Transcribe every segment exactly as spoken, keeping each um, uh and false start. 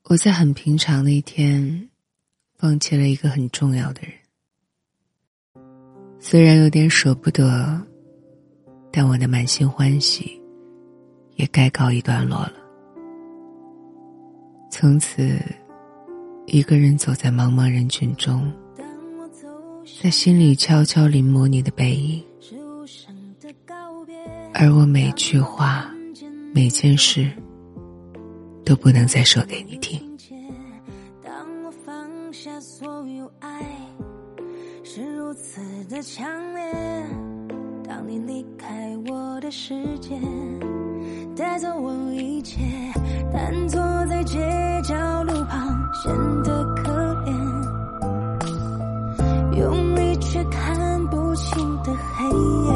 我在很平常的一天放弃了一个很重要的人，虽然有点舍不得，但我的满心欢喜也该告一段落了。从此一个人走在茫茫人群中，在心里悄悄临摹你的背影，而我每句话每件事都不能再说给你听。 当我放下所有爱，是如此的强烈。当你离开我的世界，带走我一切，但坐在街角路旁显得可怜，用力却看不清的黑夜。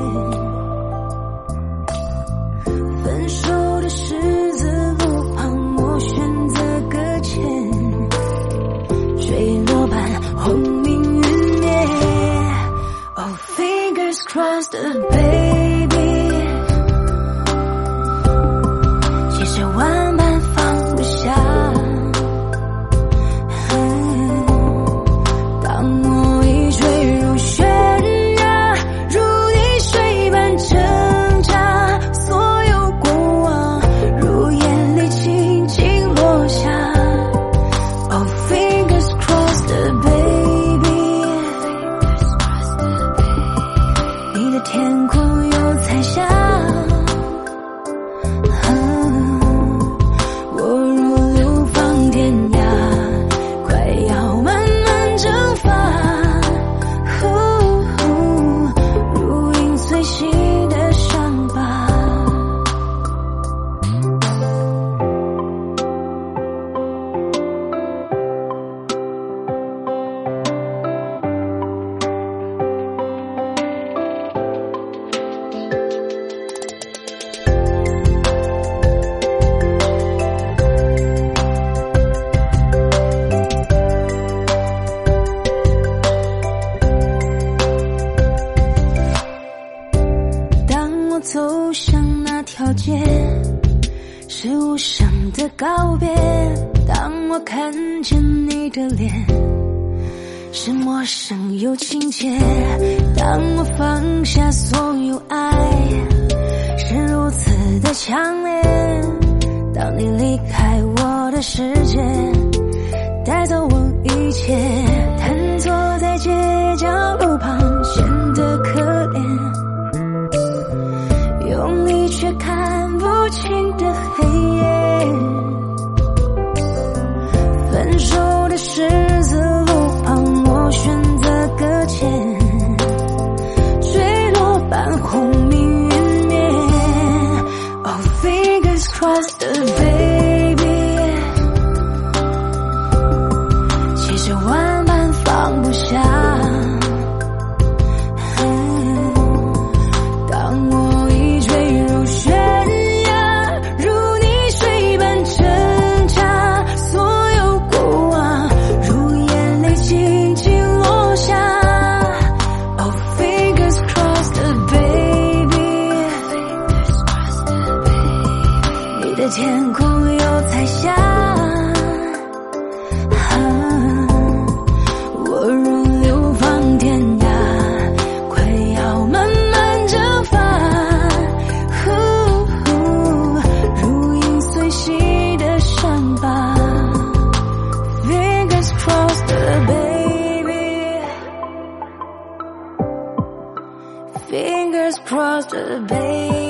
分手的十字路旁，我选择搁浅，坠落般轰鸣云灭。Oh, fingers crossed, baby， 其实万般放不下。嗯、当我已坠入悬崖，如溺水般挣扎，所有过往如眼泪轻轻落下。Oh, fingers crossed, baby， 你的天空又彩霞。我如流放天涯，快要慢慢蒸发，如影随形的伤疤。走向那条街，是无声的告别。当我看见你的脸，是陌生又亲切。当我放下所有爱，是如此的强烈。当你离开我的世界，带走我一切，瘫坐在街角路旁显得可怜，用力却看不清的黑夜。分手的十字路旁，我选择搁浅，坠落般轰鸣云灭。Oh, fingers crossed, baby， 其实万般放不下。天空有彩霞，我如流放天涯，快要慢慢蒸发，如影随形的伤疤。 Fingers crossed, baby， Fingers crossed, baby。